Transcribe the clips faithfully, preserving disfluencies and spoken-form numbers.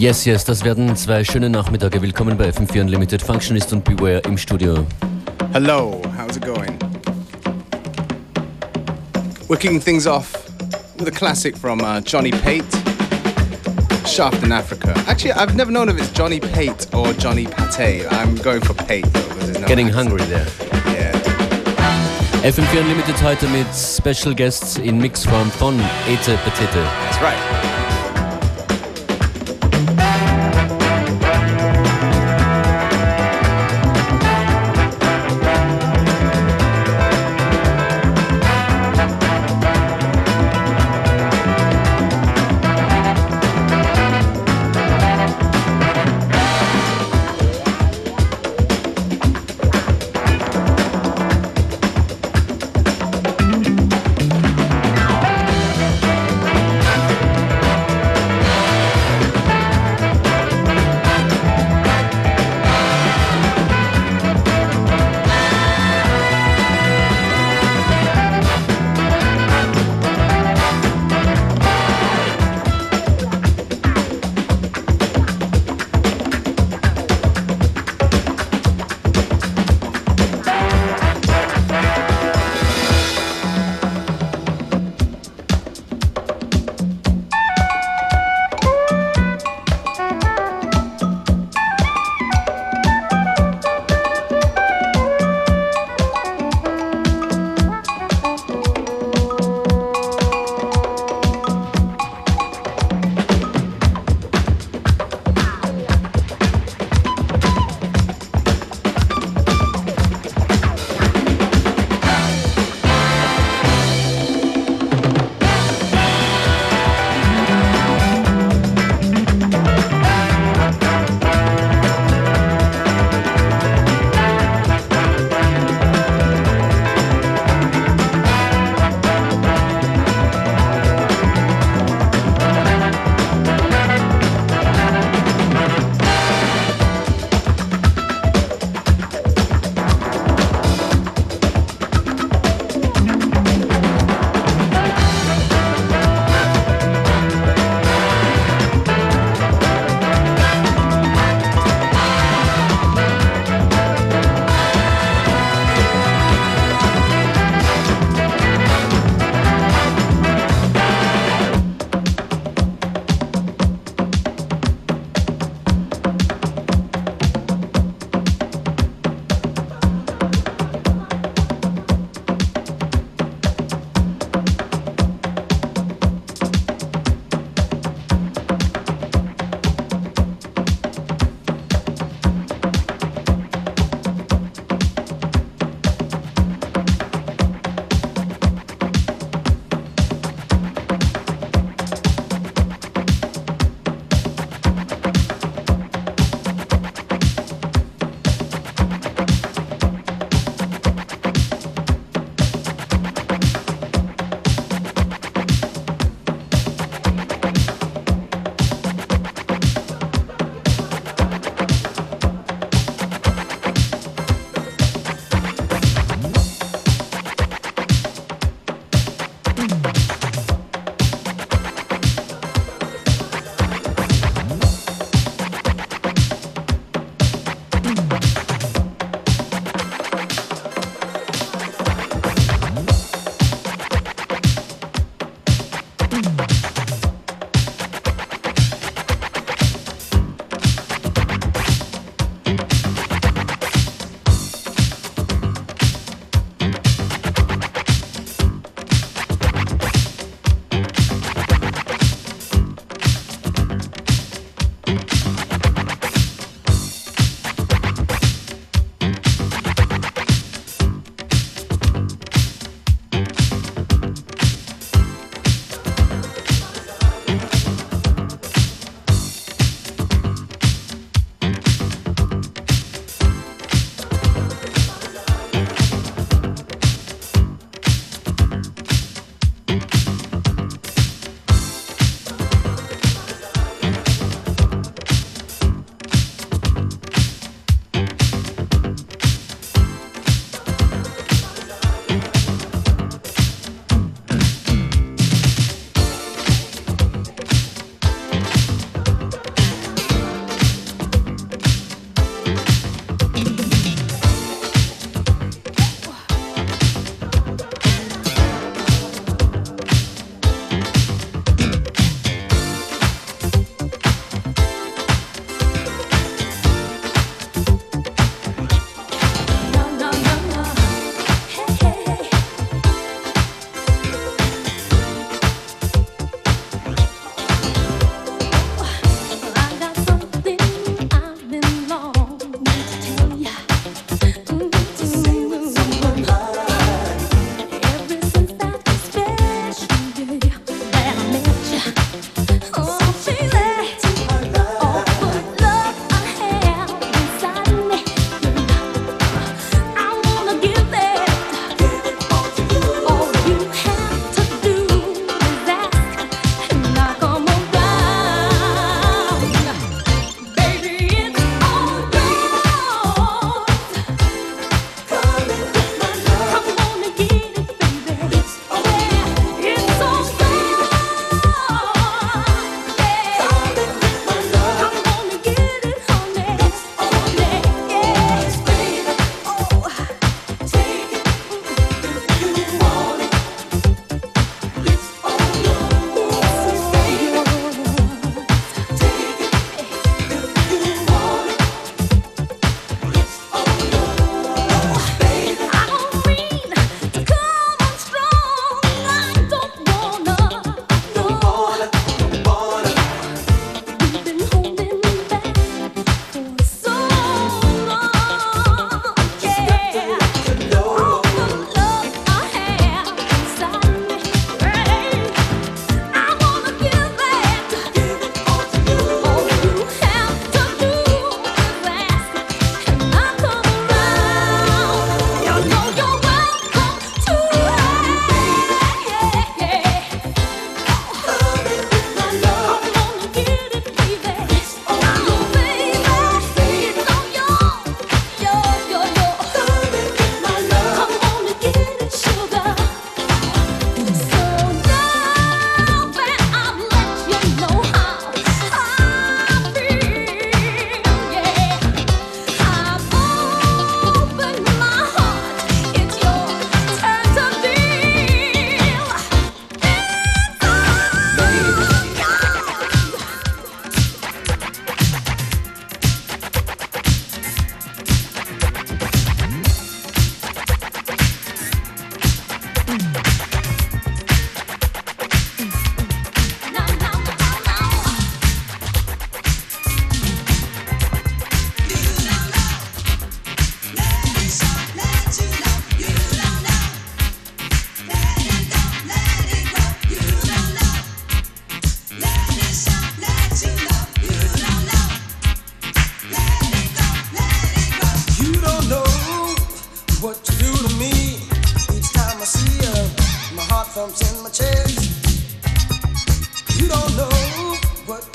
Yes, yes, das werden zwei schöne Nachmittage. Willkommen bei F M vier Unlimited. Functionist und Beware im Studio. Hello, how's it going? We're kicking things off with a classic from uh, Johnny Pate, Shaft in Africa. Actually, I've never known if it's Johnny Pate or Johnny Pate. I'm going for Pate though, because there's no Getting accent. hungry there. Yeah. F M vier Unlimited heute mit Special Guests in Mixform von Ete Petete. That's right.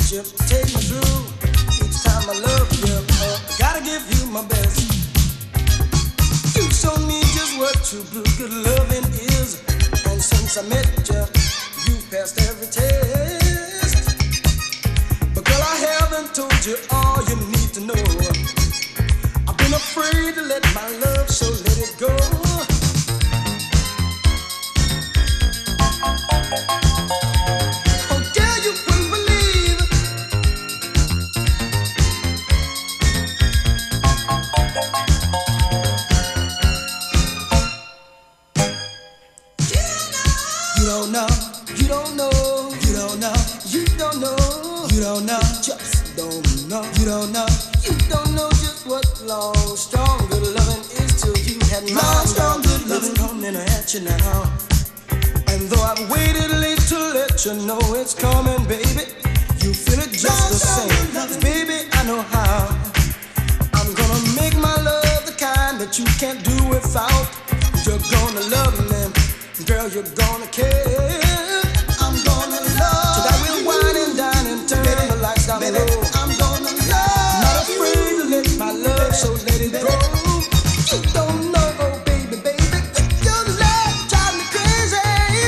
you take me through. Each time I love you, uh, gotta give you my best. You show me just what true blue good loving is. And since I met you, you've passed every test. But girl, I haven't told you all you need to know. I've been afraid to let my love show, let it go. Oh, girl, you wouldn't believe. You don't know, you don't know, you don't know, you don't know, you don't know, just don't know, you don't know, you don't know just what long, strong, good loving is till you had mine. Long, strong, good loving coming at you now. And though I've waited late to let you know it's coming, baby, you feel it just the same. Baby, I know how. I'm gonna make my love the kind that you can't do without. You're gonna love me, girl, you're gonna care. I'm gonna love. Tonight we'll wine and dine and turn the lights down low. I'm gonna love. Not afraid to let my love show, let it go. You don't know, oh baby, baby, your love drives me crazy.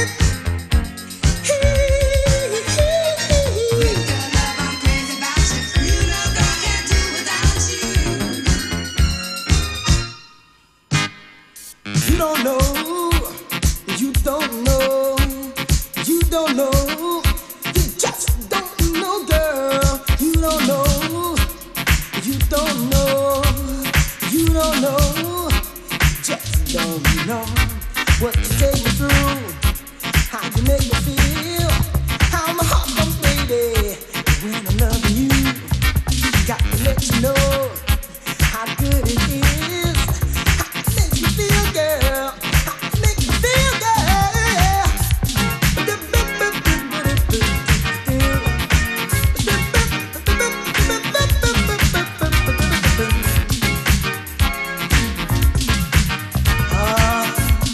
With your love, I'm crazy about you. You know, girl, can't do without you. You don't know, you don't know, you don't know, you just don't know, girl. You don't know, you don't know, you don't know, just don't know what you take me through, how you make me feel, how my heart goes, baby, when I'm loving you. Got to let you know how good it is, how it makes me feel, girl, how it makes me feel, girl. Ah,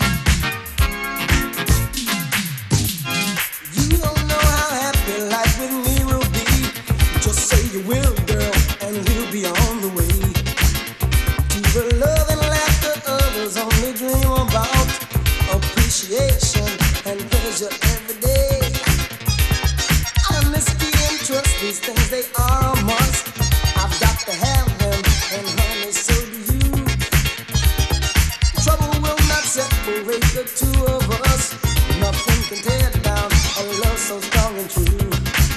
you don't know how happy life with me will be. Just say you will, girl, and we'll be on the way to the love and laughter others only dream about. Appreciation and pleasure every day. Honesty and trust, these things they are a must. I've got to have them, and honey, so do you. Trouble will not separate the two of us. Nothing can tear down a love so strong and true.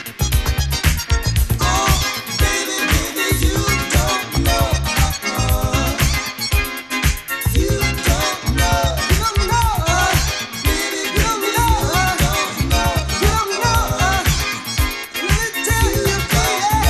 Oh, baby, baby, you don't know. Uh-uh. You don't know. You don't know. Baby, you don't know. You don't know. You don't know. Let me tell you, baby.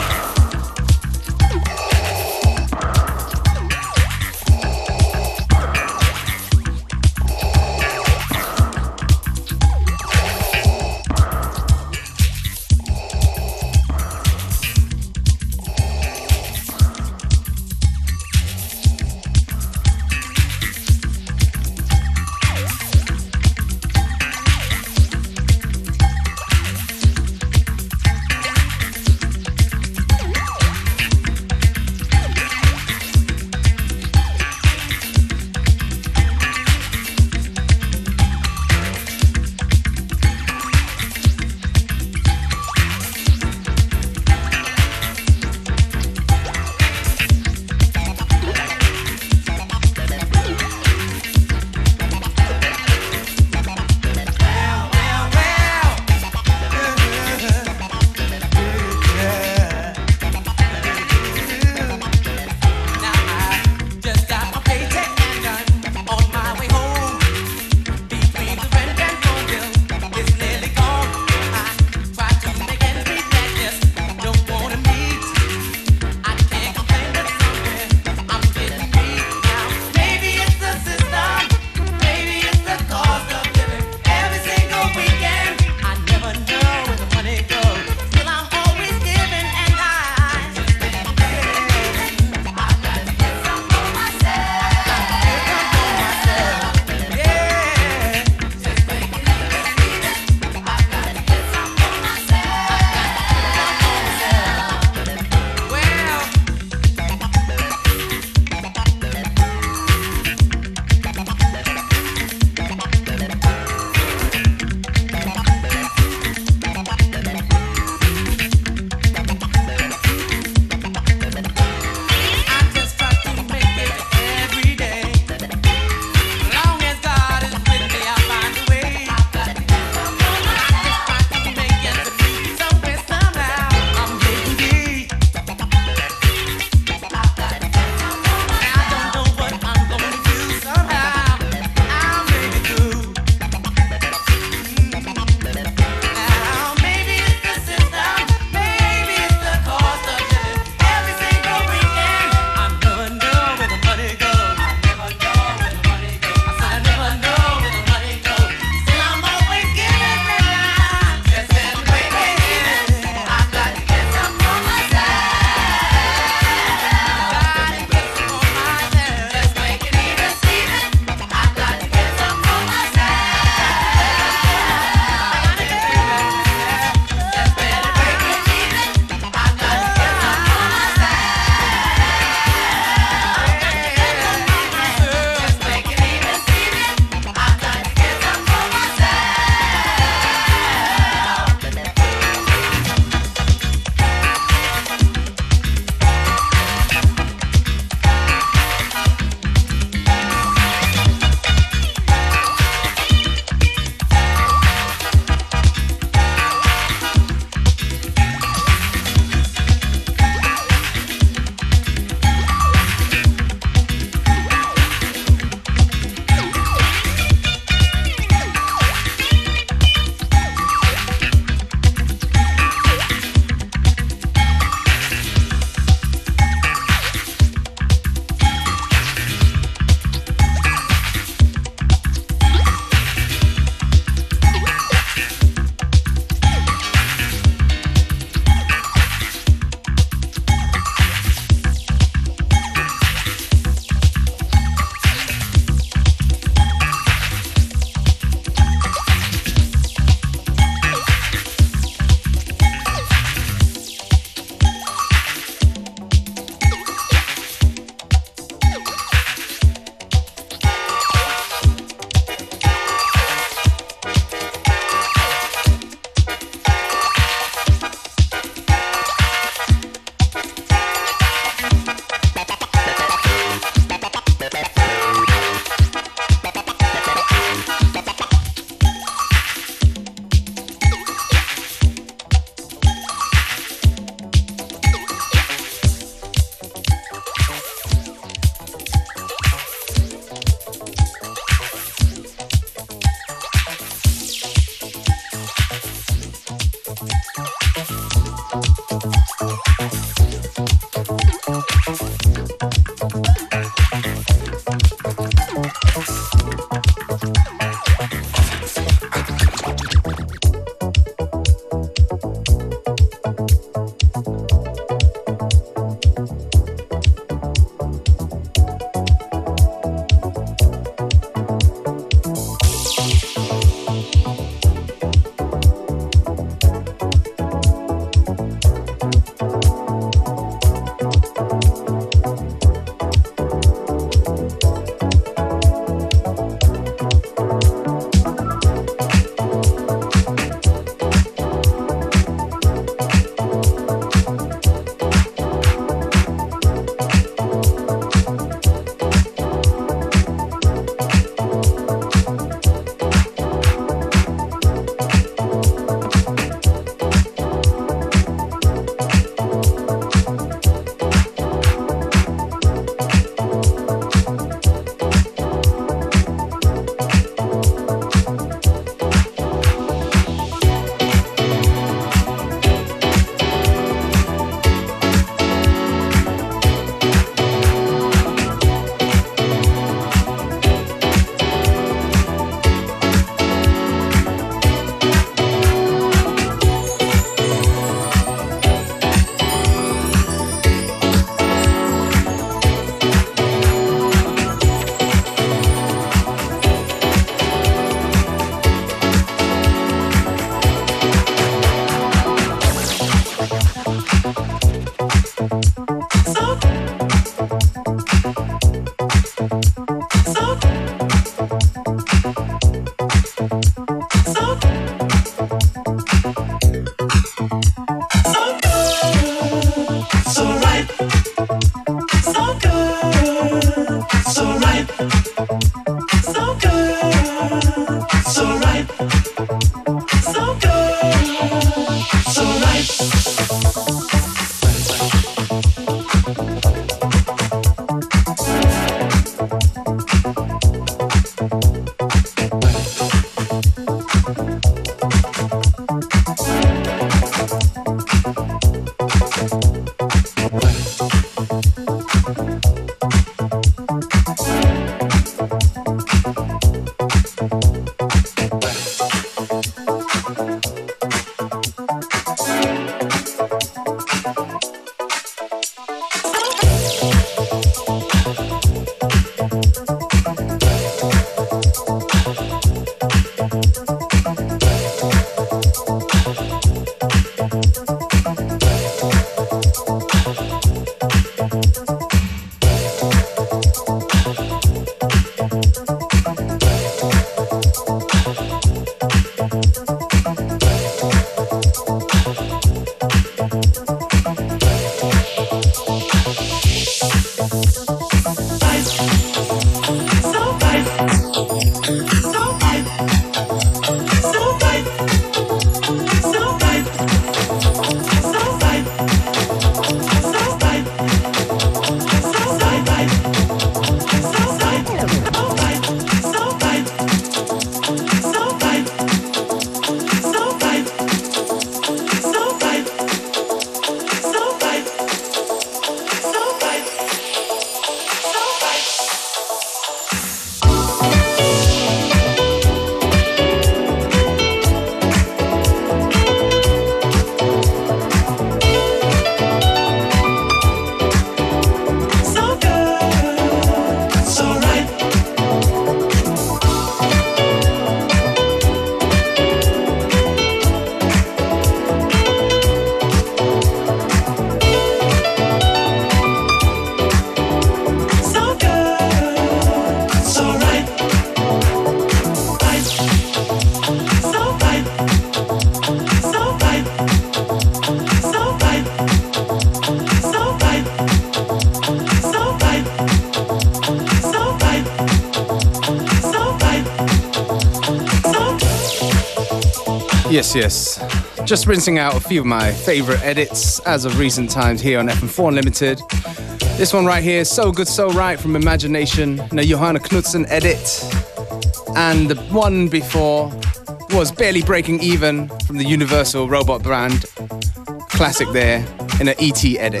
Yes, yes. Just rinsing out a few of my favorite edits as of recent times here on F M four Unlimited. This one right here, So Good, So Right from Imagination, a Johanna Knudsen edit. And the one before was Barely Breaking Even from the Universal Robot Brand. Classic there in an E T edit.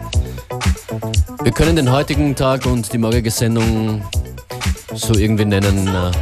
Wir können den heutigen Tag und die morgige Sendung so irgendwie nennen, äh,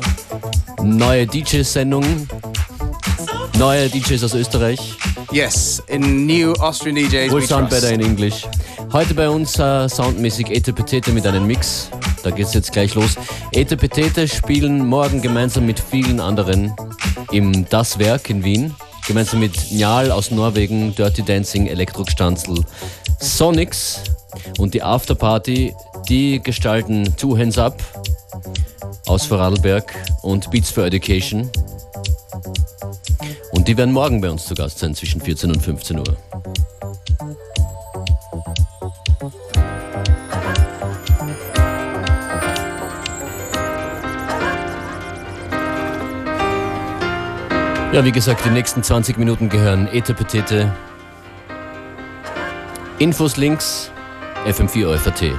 neue D J-Sendung. Neue D Js aus Österreich. Yes, in new Austrian D Js. Will sound better in English. Heute bei uns uh, soundmäßig Ete Petete mit einem Mix. Da geht's jetzt gleich los. Ete Petete spielen morgen gemeinsam mit vielen anderen im Das Werk in Wien. Gemeinsam mit Njal aus Norwegen, Dirty Dancing, Elektrostanzel, Sonics und die Afterparty, die gestalten Two Hands Up aus Vorarlberg und Beats for Education. Und die werden morgen bei uns zu Gast sein, zwischen vierzehn und fünfzehn Uhr. Ja, wie gesagt, die nächsten zwanzig Minuten gehören Ete Petete. Infos, Links, F M vier F A T.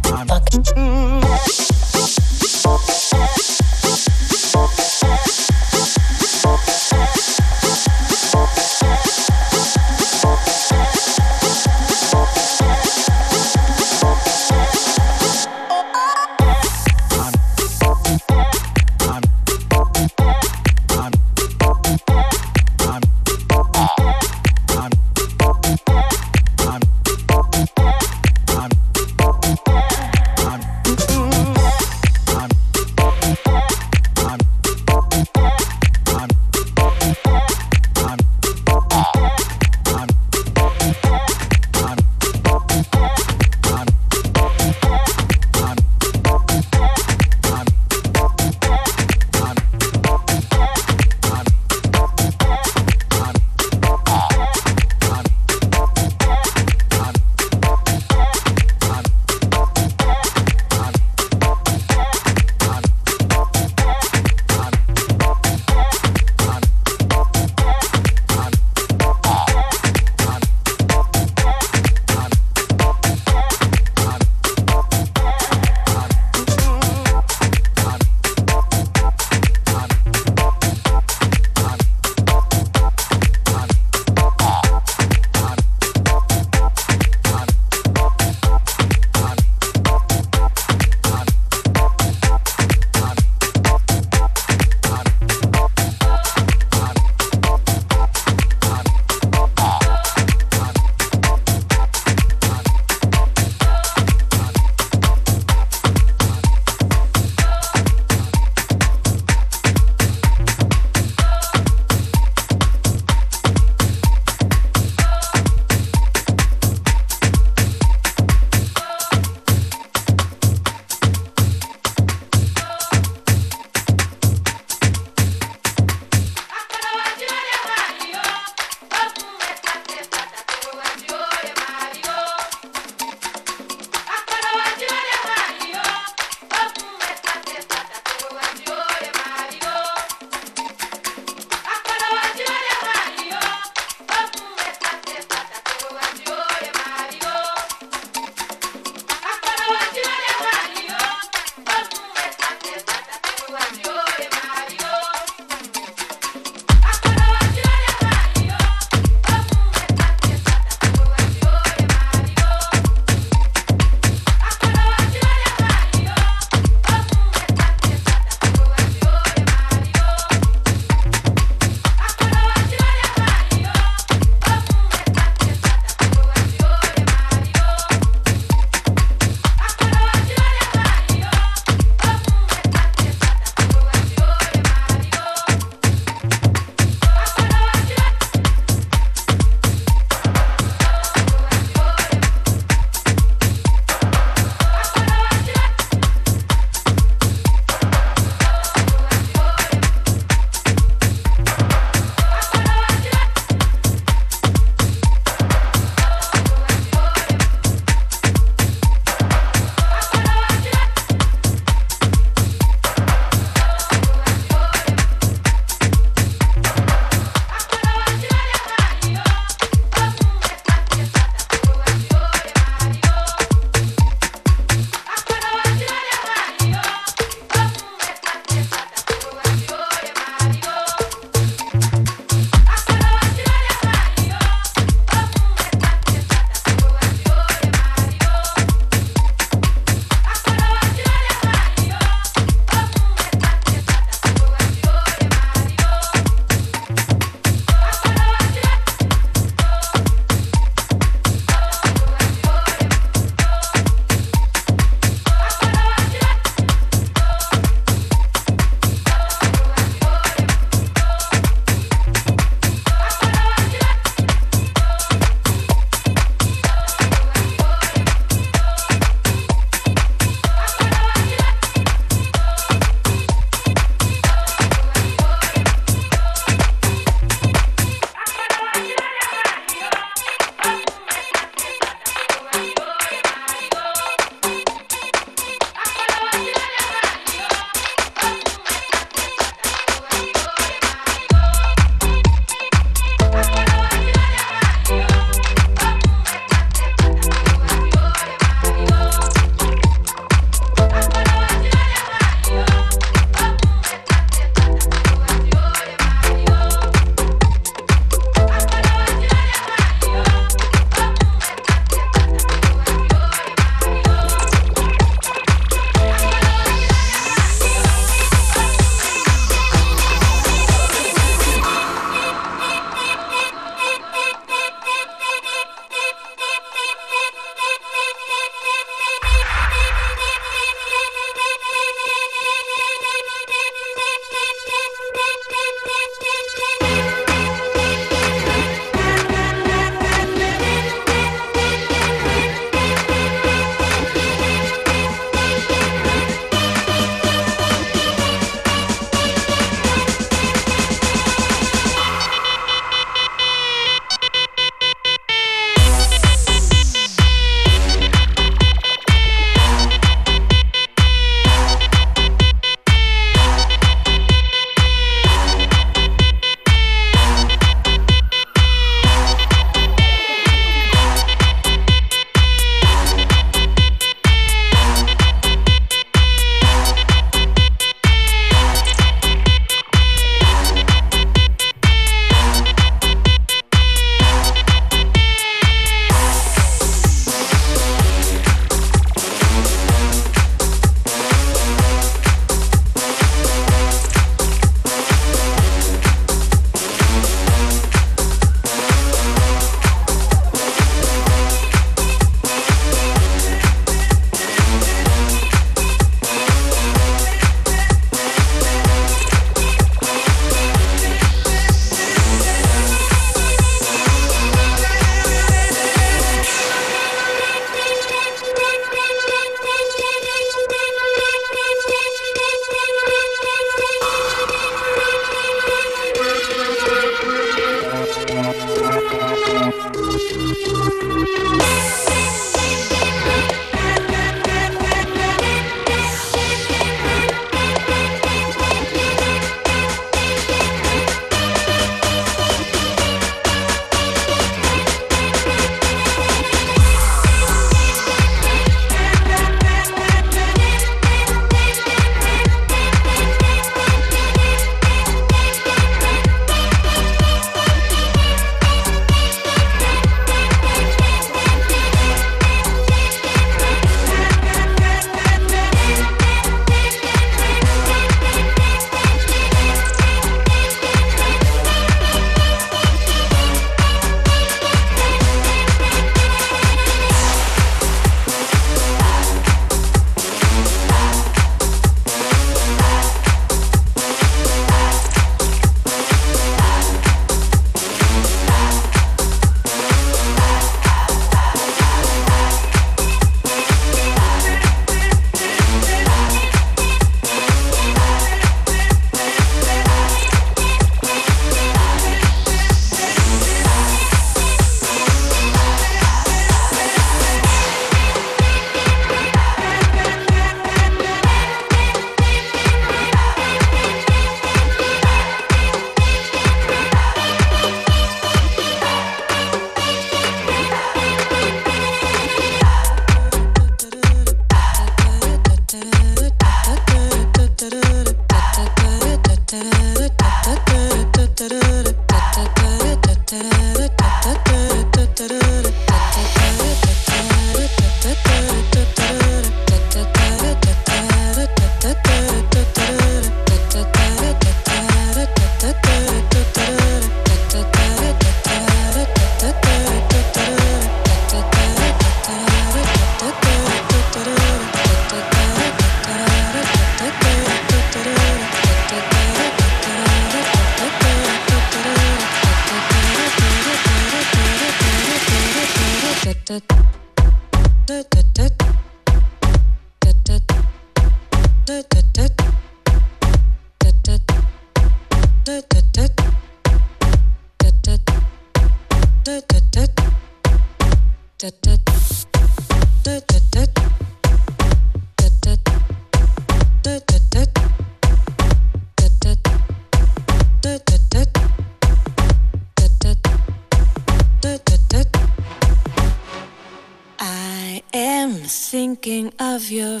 I am thinking of your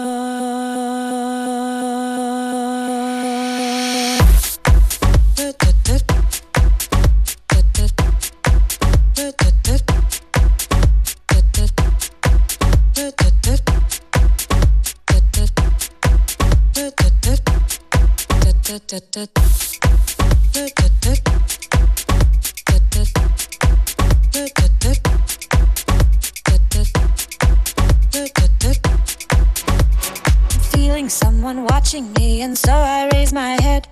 feeling someone watching me, and so I raise my head.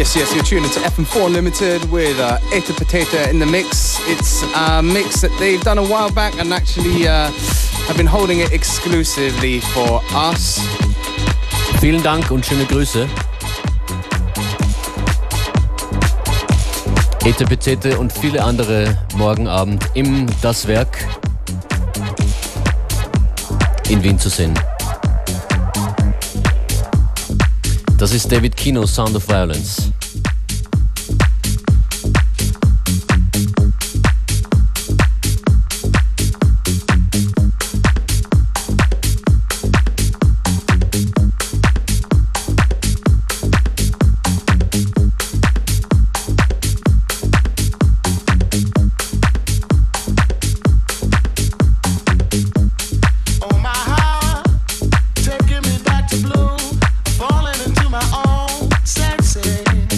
Yes, yes, you're tuning to F M four Unlimited with uh, Eta Potato in the mix. It's a mix that they've done a while back and actually uh, have been holding it exclusively for us. Vielen Dank und schöne Grüße. Eta Petete und viele andere morgen Abend im Das Werk in Wien zu sehen. Das ist David Kino, Sound of Violence. Taking me back to blue, falling into my own sexy.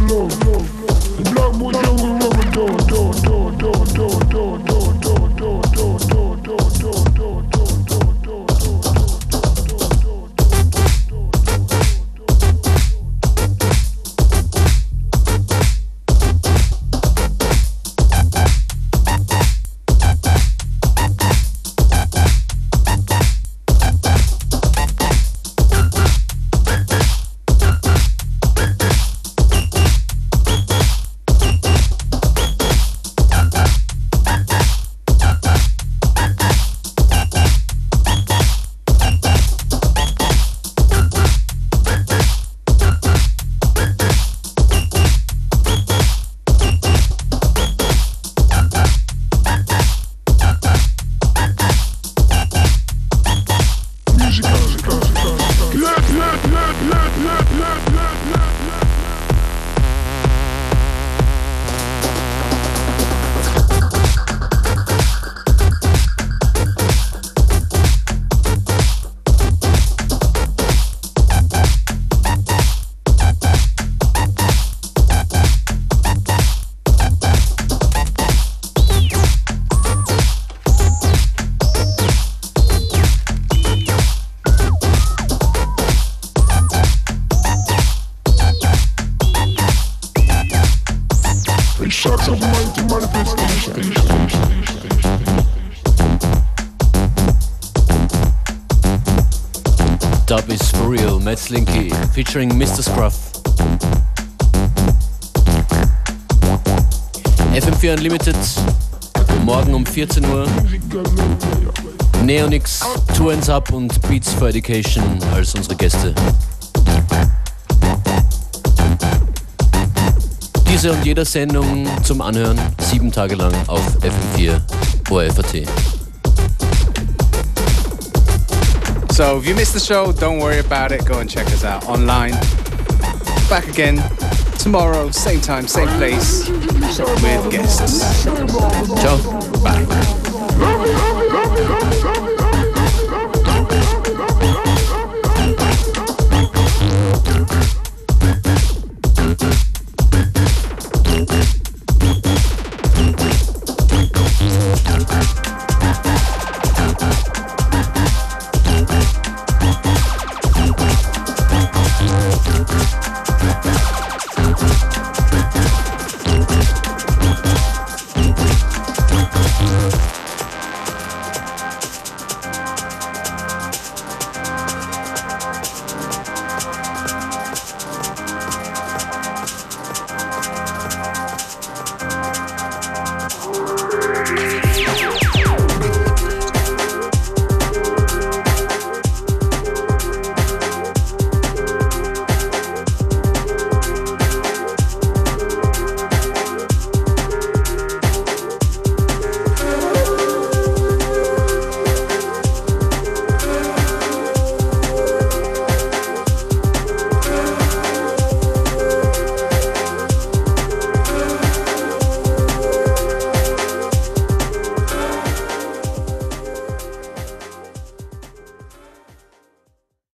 Dub is for real, Matt Slinky featuring Mister Scruff. F M vier Unlimited, morgen um vierzehn Uhr. Neonix, Two Hands Up und Beats for Education als unsere Gäste. Diese und jede Sendung zum Anhören, sieben Tage lang auf F M vier O R F A T. So if you missed the show, don't worry about it. Go and check us out online. Back again tomorrow, same time, same place, with guests. Ciao. Bye. Thank you.